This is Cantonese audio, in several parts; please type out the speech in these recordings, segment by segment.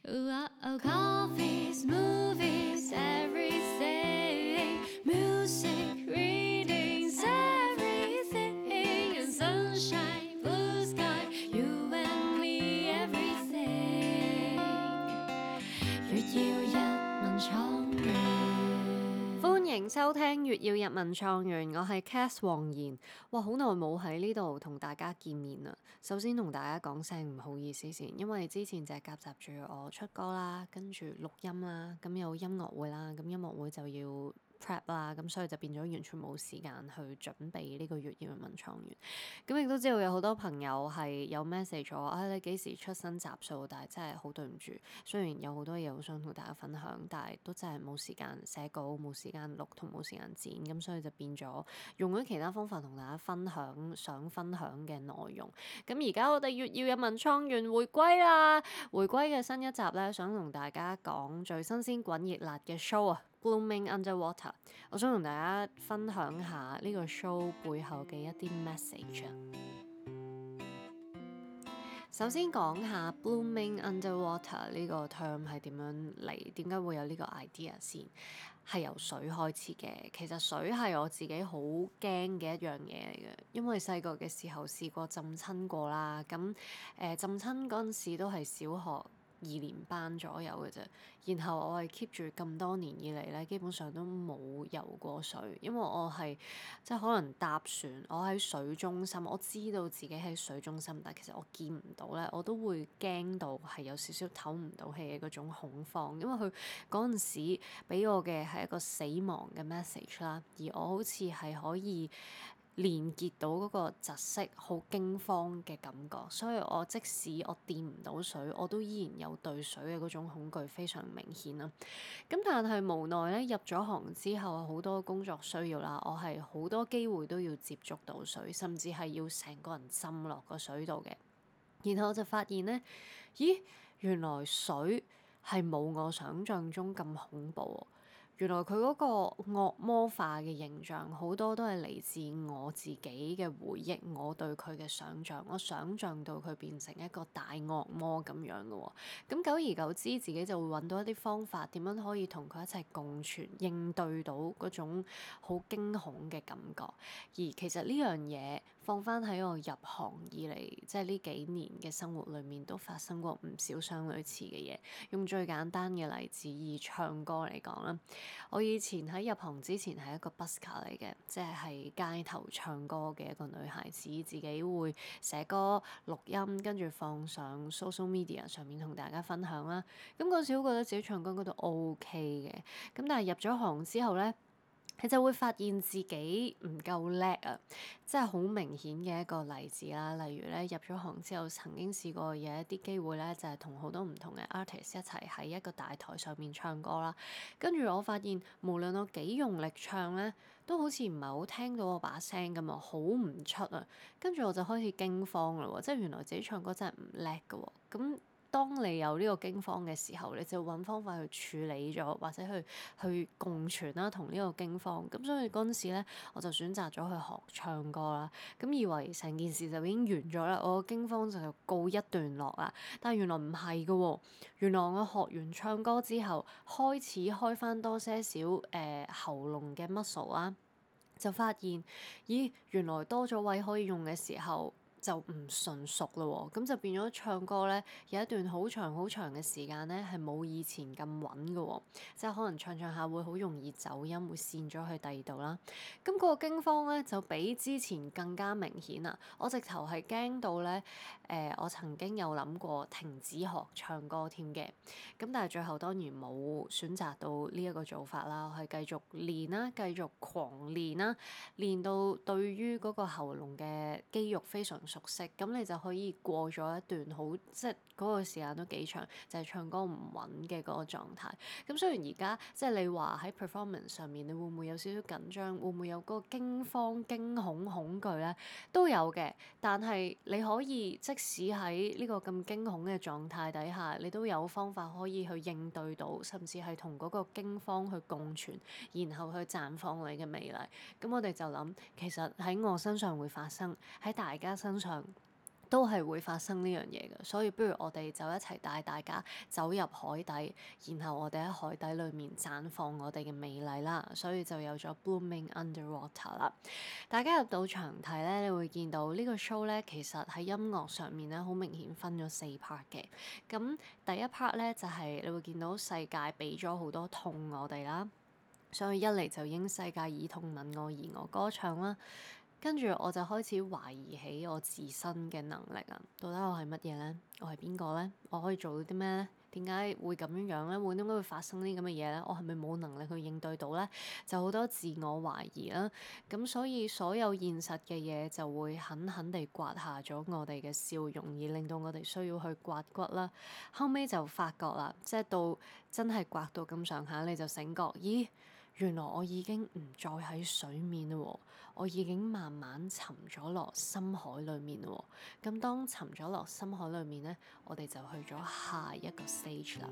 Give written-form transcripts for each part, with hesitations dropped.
Coffees, movies, everything. Music, readings, everything. And sunshine, blue sky, you and me, everything. 月耀日文創園，歡迎收聽月耀日文創園，我係 Cath 黃妍。哇，好耐冇喺呢度同大家見面啦。首先同大家講聲唔好意思先，因為之前就係夾雜住我出歌啦，跟住錄音啦，咁有音樂會啦，咁音樂會就要prep 啦，咁所以就變咗完全冇時間去準備呢個月耀日文創園。咁亦都知道有好多朋友係有 message 我，你幾時出新集數？但係真係好對唔住，雖然有好多嘢好想同大家分享，但係都真係冇時間寫稿、冇時間錄同冇時間剪，咁所以就變咗用咗其他方法同大家分享想分享嘅內容。咁而家我哋月耀日文創園回歸啦，回歸嘅新一集咧，想同大家講最新鮮滾熱辣嘅 show 啊！Blooming Underwater， 我想同大家分享下呢個 show 背後嘅一啲 message 啊。首先講下 Blooming Underwater 呢個 term 係點樣嚟，點解會有呢個 idea 先？係由水開始嘅。其實水係我自己好驚嘅一樣嘢嚟嘅，因為細個嘅時候試過浸親過啦。咁浸親嗰陣時都係小學2年班左右嘅啫，然後我係 keep 住咁多年以嚟咧，基本上都冇游過水，因為我係即係可能搭船，我喺水中心，我知道自己喺水中心，但其實我見唔到咧，我都會驚到係有少少唞唔到氣嘅嗰種恐慌，因為佢嗰陣時俾我嘅係一個死亡嘅 message 啦，而我好似係可以連結到嗰個窒息、好驚慌嘅感覺，所以我即使我掂唔到水，我都依然有對水嘅嗰種恐懼非常明顯啦。咁但係無奈咧，入咗行之後，好多工作需要啦，我係好多機會都要接觸到水，甚至係要成個人浸落個水度嘅。然後我就發現咧，咦，原來水係冇我想象中咁恐怖喎。原來佢嗰個惡魔化嘅形象好多都係嚟自我自己嘅回憶，我對佢嘅想像，我想像到佢變成一個大惡魔咁樣嘅喎。咁久而久之，自己就會揾到一啲方法，點樣可以同佢一齊共存，應對到嗰種好驚恐嘅感覺。而其實呢樣嘢放翻喺我入行以嚟，即係呢幾年嘅生活裏面，都發生過唔少相類似嘅嘢。用最簡單嘅例子，以唱歌嚟講啦。我以前喺入行之前係一個 busker 嚟嘅，即係喺街頭唱歌嘅一個女孩子，自己會寫歌錄音，跟住放上 social media 上面同大家分享啦。咁嗰時都覺得自己唱歌嗰度 OK 嘅，咁但係入咗行之後咧，你就會發現自己唔夠叻啊！即係好明顯嘅一個例子啦。例如咧，入咗行之後，曾經試過有一啲機會咧，就係同好多唔同嘅 artist 一齊喺一個大台上面唱歌啦。跟住我發現，無論我幾用力唱咧，都好似唔係好聽到我把聲咁啊，好唔出啊。跟住我就開始驚慌啦喎，即係原來自己唱歌真係唔叻㗎喎。咁當你有呢個驚慌嘅時候，你就揾方法去處理咗，或者去共存啦，同呢個驚慌。咁所以嗰陣時咧，我就選擇咗去學唱歌啦。咁以為成件事就已經完咗啦，我個驚慌就告一段落啦。但係原來唔係㗎喎，原來我學完唱歌之後，開始開翻多些少喉嚨嘅 muscle 啦，就發現咦，原來多咗位可以用嘅時候，就唔純熟咯喎，咁就變咗唱歌咧，有一段好長好長嘅時間咧，係冇以前咁穩嘅喎，即係可能唱唱下會好容易走音，會跣咗去第二度啦。咁嗰個驚慌咧就比之前更加明顯啦。我直頭係驚到咧，我曾經有諗過停止學唱歌添嘅，咁但係最後當然冇選擇到呢一個做法啦，我係繼續練啦，繼續狂練啦，練到對於嗰個喉嚨嘅肌肉非常熟悉，咁你就可以過咗一段好，即係嗰個時間都幾長，就係唱歌唔穩嘅嗰個狀態。咁雖然而家即係你話喺 performance 上面，你會唔會有少少緊張？會唔會有嗰個驚慌、驚恐、恐懼咧？都有嘅，但係你可以即使喺呢個咁驚恐嘅狀態底下，你都有方法可以去應對到，甚至係同嗰個驚慌去共存，然後去綻放你嘅美麗。咁我哋就諗，其實喺我身上會發生，喺大家身上都係會發生呢樣嘢嘅，所以不如我哋就一齊帶大家走入海底，然後我哋喺海底裏面綻放我哋嘅美麗啦，所以就有咗 Blooming Underwater 啦。大家入到場睇咧，你會見到呢個 show 咧，其實喺音樂上面咧，好明顯分咗4 part 嘅。咁第一 part 咧就係你會見到世界俾咗好多痛我哋啦，所以一嚟就應世界以痛吻我而我歌唱啦。跟住我就開始懷疑起我自身嘅能力啊！到底我係乜嘢咧？我係邊個咧？我可以做到啲咩咧？點解會咁樣樣咧？點解會發生啲咁嘅嘢咧？我係咪冇能力去應對到咧？就好多自我懷疑啦。咁所以所有現實嘅嘢就會狠狠地刮下咗我哋嘅笑容，而令到我哋需要去刮骨啦。後尾就發覺啦，即係到真係刮到咁上下，你就醒覺，咦？原來我已經唔再喺水面啦喎，我已經慢慢沉咗落深海裡面啦喎。咁當沉咗落深海裡面咧，我哋就去咗下一個 stage 啦。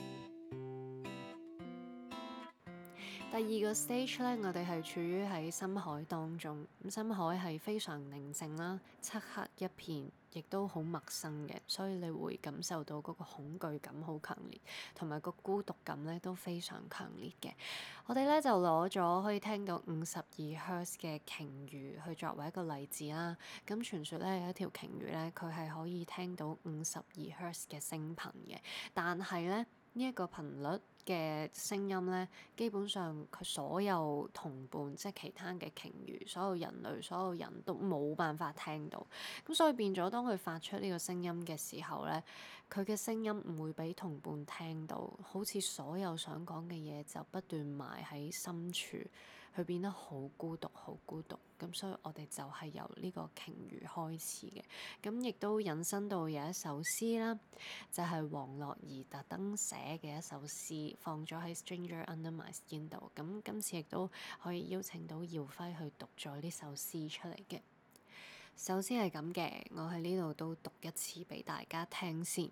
第二個 stage 咧，我哋係處於喺深海當中，咁深海係非常寧靜啦，漆黑一片，亦都好陌生嘅，所以你會感受到嗰個恐懼感好強烈，同埋個孤獨感咧都非常強烈嘅。我哋咧就攞咗可以聽到52 Hertz 嘅鯨魚去作為一個例子啦。咁傳說咧有一條鯨魚咧，佢係可以聽到52 Hertz 嘅聲頻嘅，但係咧呢一個頻率嘅聲音咧，基本上佢所有同伴，即係其他嘅鯨魚，所有人類，所有人都冇辦法聽到。咁所以變咗，當佢發出呢個聲音嘅時候咧，佢嘅聲音唔會俾同伴聽到，好似所有想講嘅嘢就不斷埋喺深處，佢變得好孤獨，好孤獨。咁所以我哋就係由呢個鯨魚開始嘅，咁亦都引申到有一首詩啦，就係黃樂兒特登寫嘅一首詩，放咗喺 Stranger Under My Skin 度。咁今次亦都可以邀請到耀輝去讀咗呢首詩出嚟嘅。首詩係咁嘅，我喺呢度都讀一次俾大家聽先。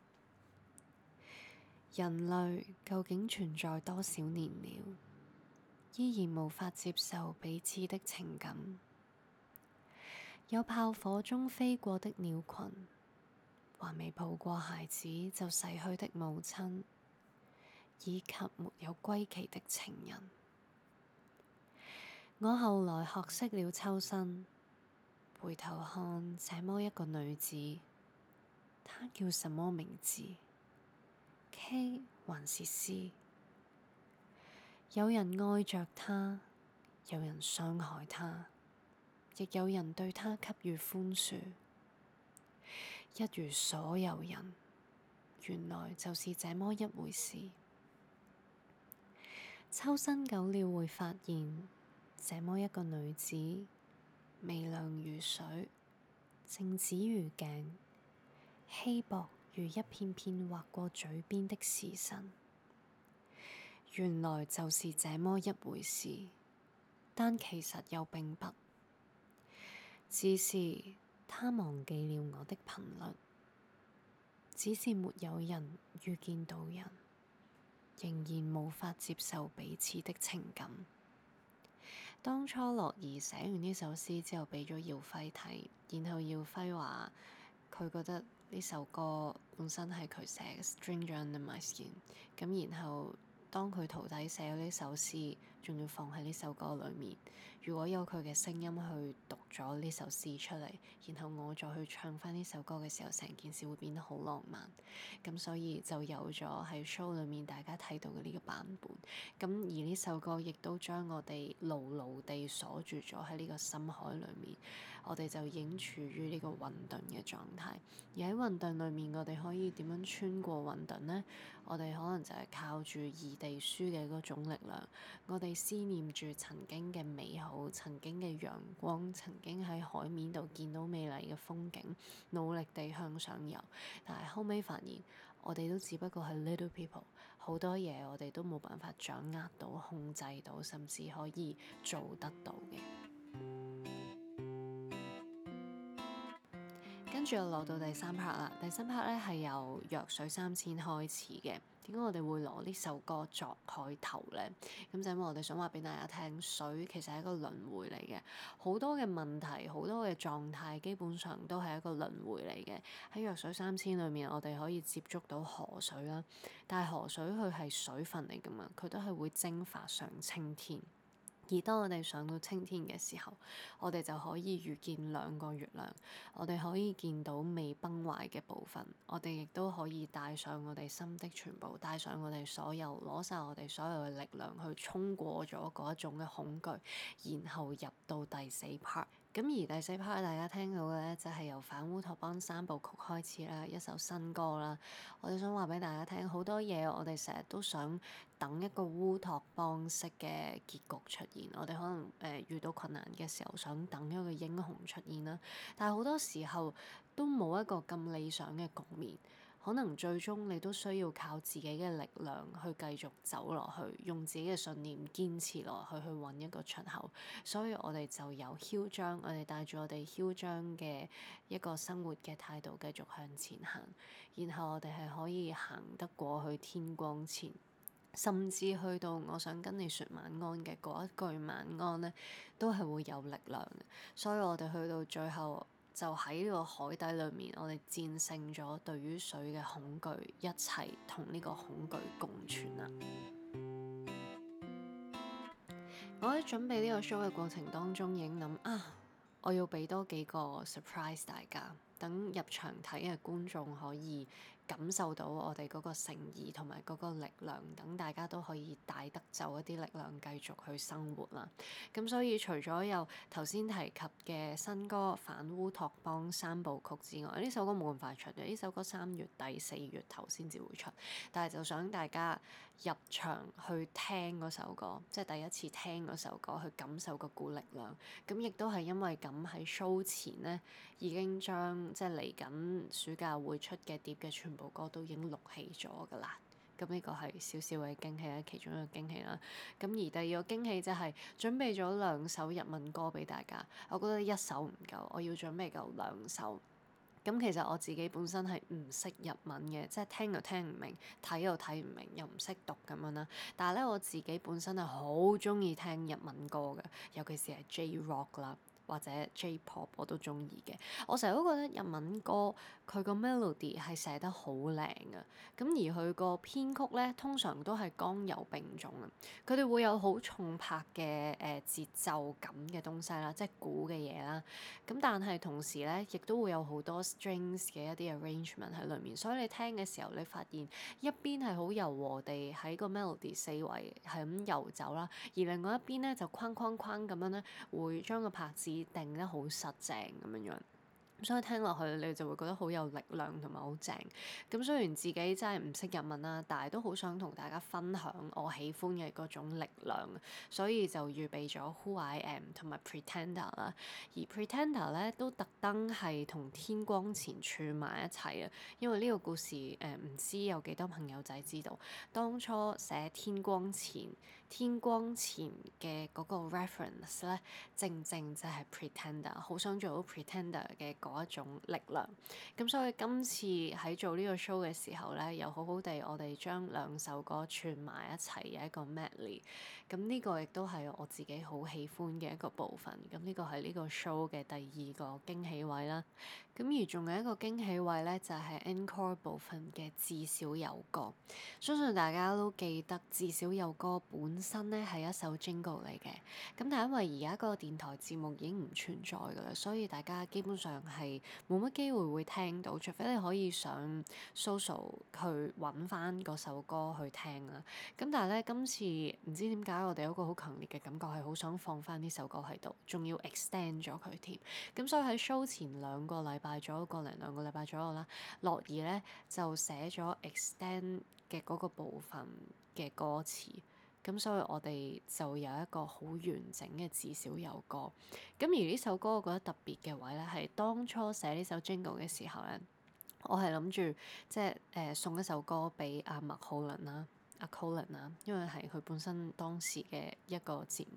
人類究竟存在多少年了，依然無法接受彼此的情感。有炮火中飛過的鳥群，還未抱過孩子就逝去的母親，以及沒有歸期的情人。我後來學識了抽身，回頭看這麼一個女子，她叫什麼名字？ K 還是 C？ 有人愛着她，有人傷害她，亦有人對她給予寬恕。一如所有人，原來就是這麼一回事。抽身久了會發現，這麼一個女子，微亮如水，靜止如鏡，稀薄如一片片劃過嘴邊的時辰。原來就是這麼一回事，但其實又並不，只是他忘記了我的頻率，只是沒有人遇見到人，仍然無法接受彼此的情感。當初樂兒寫完呢首詩之後，俾咗耀輝睇，然後耀輝話佢覺得呢首歌本身係佢寫嘅《Stranger Under My Skin》，咁然後當佢徒弟寫咗呢首詩，仲要放喺呢首歌裏面，如果有佢嘅聲音去讀咗呢首詩出嚟，然後我再去唱翻呢首歌嘅時候，成件事會變得好浪漫。咁所以就有咗喺 show 裏面大家睇到嘅呢個版本。咁而呢首歌亦都將我哋牢牢地鎖住咗喺呢個深海裏面，我哋就已經處於呢個混沌嘅狀態。而喺混沌裏面，我哋可以點樣穿過混沌呢？我哋可能就係靠住異地書嘅嗰種力量，我哋思念住曾經嘅美好，曾經嘅陽光，曾經喺海面度見到美麗嘅風景，努力地向上游。但係後尾發現，我哋都只不過係 little people，好多嘢我哋都冇辦法掌握到、控制到，甚至可以做得到嘅。跟跟住又落到第三 part 啦。第三 part 咧係由弱水三千開始嘅。點解我哋會攞呢首歌作開頭咧？咁就因為我哋想話俾大家聽，水其實係一個輪迴嚟嘅，好多嘅問題、好多嘅狀態，基本上都係一個輪迴嚟嘅。喺弱水三千裏面，我哋可以接觸到河水啦，但係河水佢係水分嚟㗎嘛，佢都係會蒸發上青天。而當我哋上到青天嘅時候，我哋就可以遇見兩個月亮，我哋可以見到未崩壞嘅部分，我哋亦都可以帶上我哋心的全部，帶上我哋所有，攞晒我哋所有嘅力量去衝過咗嗰一種嘅恐懼，然後入到第四 part。咁而第四 part 大家聽到嘅咧，就係由反烏托邦三部曲開始啦，一首新歌啦。我哋想話俾大家聽，好多嘢我哋成日都想等一個烏托邦式嘅結局出現。我哋可能遇到困難嘅時候，想等一個英雄出現啦。但係好多時候都冇一個咁理想嘅局面。可能最終你都需要靠自己嘅力量去繼續走落去，用自己嘅信念堅持落去，去揾一個出口。所以我哋就由囂張，我哋帶住我哋囂張嘅一個生活嘅態度繼續向前行，然後我哋係可以行得過去天光前，甚至去到我想跟你説晚安嘅嗰一句晚安咧，都係會有力量嘅。所以我哋去到最後，就喺呢個海底裏面，我哋戰勝咗對於水嘅恐懼，一齊同呢個恐懼共存啦。我喺準備呢個 show 嘅過程當中，已經諗我要俾多幾個 surprise 大家，等入場睇嘅觀眾可以感受到我哋嗰個誠意同埋嗰個力量，等大家都可以帶得走一啲力量，繼續去生活啦。咁所以除咗有頭先提及嘅新歌《反烏托邦三部曲》之外，呢首歌冇咁快出嘅，呢首歌3月底4月頭先至會出，但係就想大家入場去聽嗰首歌，即係第一次聽嗰首歌，去感受嗰股力量。咁亦都係因為咁喺 show 前咧，已經將即係嚟緊暑假會出嘅碟嘅全部歌都已經錄起咗㗎啦。咁呢個係少少嘅驚喜啦，其中一個驚喜啦。咁而第二個驚喜就係準備咗2首日文歌俾大家。我覺得一首唔夠，我要準備夠2首。咁其實我自己本身係唔識日文嘅，即係聽又聽唔明，睇又睇唔明，又唔識讀咁樣啦。但係咧，我自己本身係好中意聽日文歌嘅，尤其是係 J-Rock 啦，或者 J-Pop 我都中意嘅。我成日都覺得日文歌佢個 melody 係寫得好靚嘅，咁而佢個編曲咧通常都係剛柔並重啊。佢哋會有好重拍嘅節奏感嘅東西啦，即係鼓嘅嘢啦。咁但係同時咧，亦都會有好多 strings 嘅一啲 arrangement 喺裏面，所以你聽嘅時候，你發現一邊係好柔和地喺個 melody 四圍係咁遊走啦，而另外一邊咧就框框框咁樣咧，會將個拍子定得好實正咁樣樣。所以聽落去你就會覺得好有力量同埋好正。咁雖然自己真係唔識日文啦，但係都好想同大家分享我喜歡嘅嗰種力量，所以就預備咗 Who I Am 同埋 Pretender 啦。而 Pretender 咧都特登係同天光前串埋一齊啊，因為呢個故事唔知有幾多朋友仔知道，當初寫天光前嘅嗰個 reference 咧，正正就係 Pretender， 好想做到 Pretender 嘅嗰一種力量。咁所以今次喺做呢個 show 嘅時候咧，又好好地我哋將2首歌串埋一齊嘅一個 medley。咁呢個亦都係我自己好喜歡嘅一個部分。咁呢個係呢個 show 嘅第2個驚喜位啦。咁而仲有一個驚喜位咧，就係 encore 部分嘅至少有歌。相信大家都記得至少有歌本身咧係一首 jingle 嚟嘅。咁但係因為而家個電台節目已經唔存在㗎啦，所以大家基本上係冇乜機會會聽到，除非你可以上 social 去揾翻嗰首歌去聽啦。咁但係咧，今次唔知點解我哋有一個好強烈嘅感覺係好想放翻呢首歌喺度，仲要 extend 咗佢添。咁所以喺 show 前2個禮拜左右，個零2個禮拜左右啦，樂兒咧就寫咗 extend 嘅嗰個部分嘅歌詞。咁所以我哋就有一個好完整嘅至少有歌。咁而呢首歌我覺得特別嘅位咧，係當初寫呢首 jingle 嘅時候咧，我係諗住即係送一首歌俾阿麥浩倫啦，阿 Colin 啦，因為係佢本身當時嘅一個節目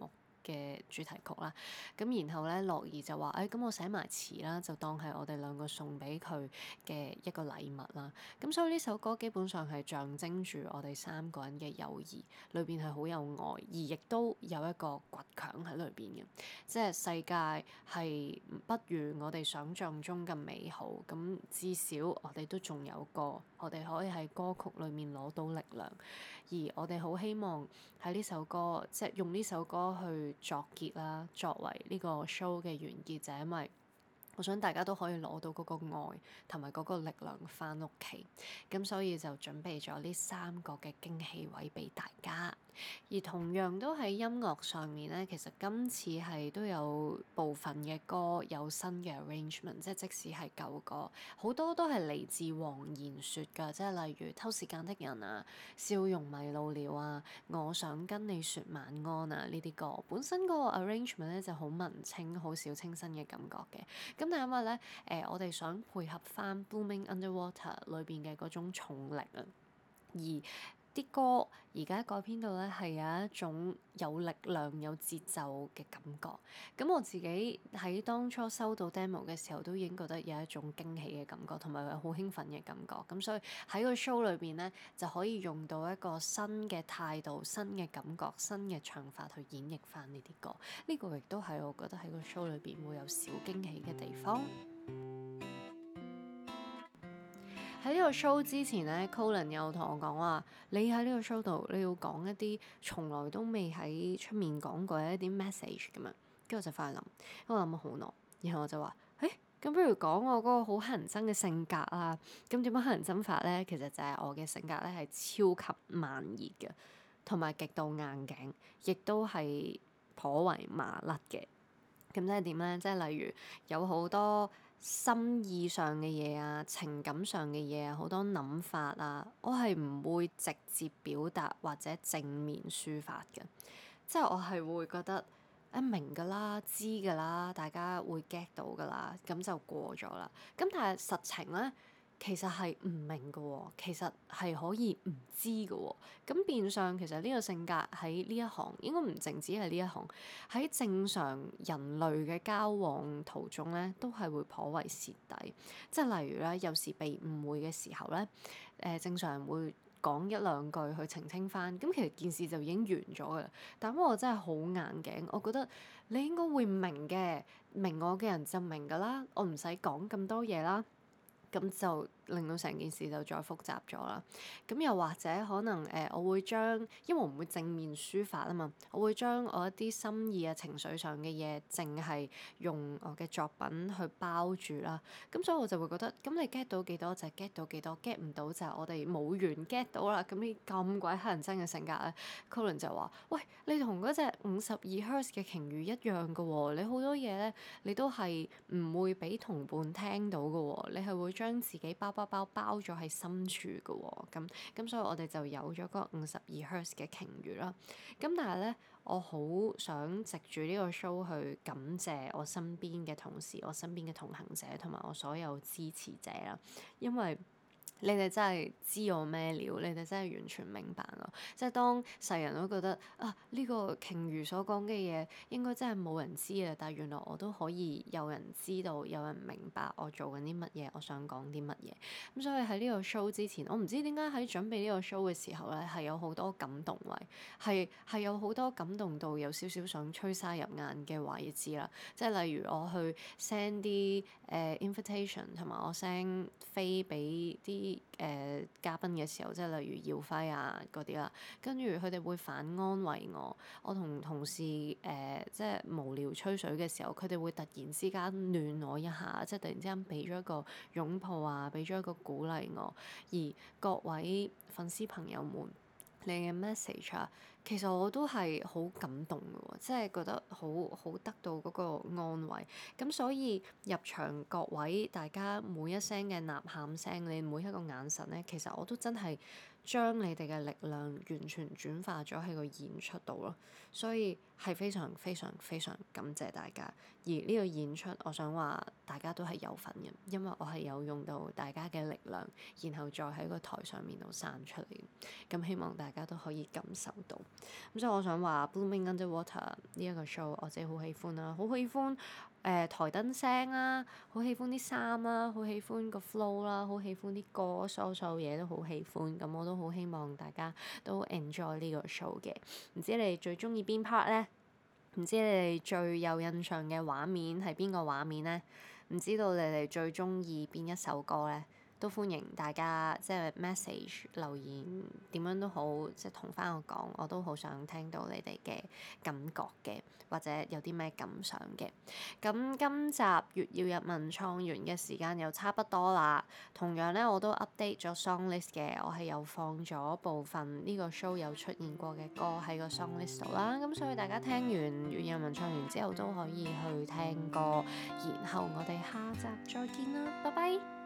嘅主題曲啦。咁然後咧，樂兒就話：咁我寫埋詞啦，就當係我哋兩個送俾佢嘅一個禮物啦。咁所以呢首歌基本上係象徵住我哋3個人嘅友誼，裏邊係好有愛，而亦都有一個倔強喺裏邊嘅。即係世界係不如我哋想象中咁美好，咁至少我哋都仲有歌，我哋可以喺歌曲裏面攞到力量。而我哋好希望喺呢首歌，即係用呢首歌去作結啦，作為呢個 show 嘅完結，就係因為我想大家都可以攞到嗰個愛同埋嗰個力量返屋企，咁所以就準備咗呢3個嘅驚喜位俾大家。而同樣都喺音樂上面咧，其實今次係都有部分嘅歌有新嘅 arrangement，即使係舊歌，好多都係嚟自黃妍雪㗎，即係例如偷時間的人啊、笑容迷路了啊、我想跟你說晚安啊呢啲歌，本身嗰個 arrangement 咧就好文青、好小清新嘅感覺嘅。咁但係因為咧我哋想配合翻 Blooming Underwater 裏邊嘅嗰種重力啊，而啲歌而家改編到咧係有一種有力量、有節奏嘅感覺。咁我自己喺當初收到 demo 嘅時候，都已經覺得有一種驚喜嘅感覺，同埋好興奮嘅感覺。咁所以喺個 show 裏邊咧，就可以用到一個新嘅態度、新嘅感覺、新嘅唱法去演繹翻呢啲歌。呢個亦都係我覺得喺個 show 裏邊會有小驚喜嘅地方。喺呢個 show 之前咧 Colin 有同我講話：你喺呢個 show 度，你要講一啲從來都未喺出面講過嘅一啲 message 咁樣。跟住我就翻去諗，我諗咗好耐，然後我就話：咁不如講我嗰個好乞人憎嘅性格啊！咁點樣乞人憎法咧？其實就係我嘅性格咧係超級慢熱嘅，同埋極度硬頸，亦都係頗為麻甩嘅。咁即係點咧？即係例如有好多心意上嘅嘢啊，情感上嘅嘢啊，好多諗法啊，我係唔會直接表達或者正面抒發嘅。即係我係會覺得明㗎啦，知㗎啦，大家會 get 到㗎啦，咁就過咗啦。咁但係實情咧，其實係唔明㗎喎，其實係可以唔知㗎喎。咁變相其實呢個性格喺呢一行應該唔淨止係呢一行，喺正常人類嘅交往途中咧，都係會頗為蝕底。即係例如咧，有時被誤會嘅時候咧，正常人會講一兩句去澄清翻，咁其實件事就已經完咗㗎啦。但因為我真係好硬頸，我覺得你應該會明嘅，明我嘅人就明㗎啦，我唔使講咁多嘢啦。咁就令到成件事就再複雜咗啦。咁又或者可能我會將，因為我唔會正面抒發啊嘛，我會將我一啲心意啊、情緒上嘅嘢，淨係用我嘅作品去包住啦。咁所以我就會覺得，咁你 get 到幾多就 get 到幾多，get 唔到就我哋冇緣 get 到啦。咁呢咁鬼乞人憎嘅性格咧，Colin 就話：喂，你同嗰隻52 Hertz 嘅鯨魚一樣㗎喎，你好多嘢咧，你都係唔會俾同伴聽到㗎喎，你係會將自己包咗喺深處嘅喎。咁所以我哋就有咗嗰52 Hertz 嘅鯨魚啦。咁但係咧，我好想藉住呢個 show 去感謝我身邊嘅同事、我身邊嘅同行者同埋我所有支持者啦，因為你哋真係知我咩料，你哋真係完全明白我。即係當世人都覺得呢個鯨魚所講嘅嘢應該真係冇人知啊，但係原來我都可以有人知道，有人明白我做緊啲乜嘢，我想講啲乜嘢。咁所以喺呢個 show 之前，我唔知點解喺準備呢個 show 嘅時候咧，係有好多感動位，係有好多感動到有少少想吹沙入眼嘅位置啦。即係例如我去 send 啲invitation 同埋我 send 飛俾啲嘉賓嘅時候，即係例如耀輝啊嗰啲啦，跟住佢哋會反安慰我。我同同事即係無聊吹水嘅時候，佢哋會突然之間暖我一下，即係突然之間俾咗一個擁抱啊，俾咗一個鼓勵我。而各位粉絲朋友們，你嘅 message 啊，其實我都係好感動嘅喎，即係覺得好得到嗰個安慰。咁所以入場各位大家每一聲嘅吶喊聲，你每一個眼神咧，其實我都真係將你哋嘅力量完全轉化咗喺個演出度咯。所以係非常非常非常感謝大家。而呢個演出，我想話大家都係有份嘅，因為我係有用到大家嘅力量，然後再喺個台上面度散出嚟。咁希望大大家都可以感受到。咁所以我想話 Blooming Underwater 呢一個 show 我自己好喜歡啦，好喜歡台燈聲啦，好喜歡啲衫啦，好喜歡個 flow 啦，好喜歡啲歌，所有嘢都好喜歡。咁我都好希望大家都 enjoy 呢個 show 嘅。唔知你哋最中意邊 part 咧？唔知你哋最有印象嘅畫面係邊個畫面咧？唔知道你哋最中意邊一首歌咧？都歡迎大家即係 message 留言點樣都好，即係同翻我講，我都好想聽到你哋嘅感覺嘅，或者有啲咩感想嘅。咁今集粵要日文創完嘅時間又差不多啦。同樣咧，我都 update 咗 song list 嘅，我係有放咗部分呢個 show 有出現過嘅歌喺個 song list 度啦。咁所以大家聽完粵要日文創完之後都可以去聽歌，然後我哋下集再見啦，拜拜。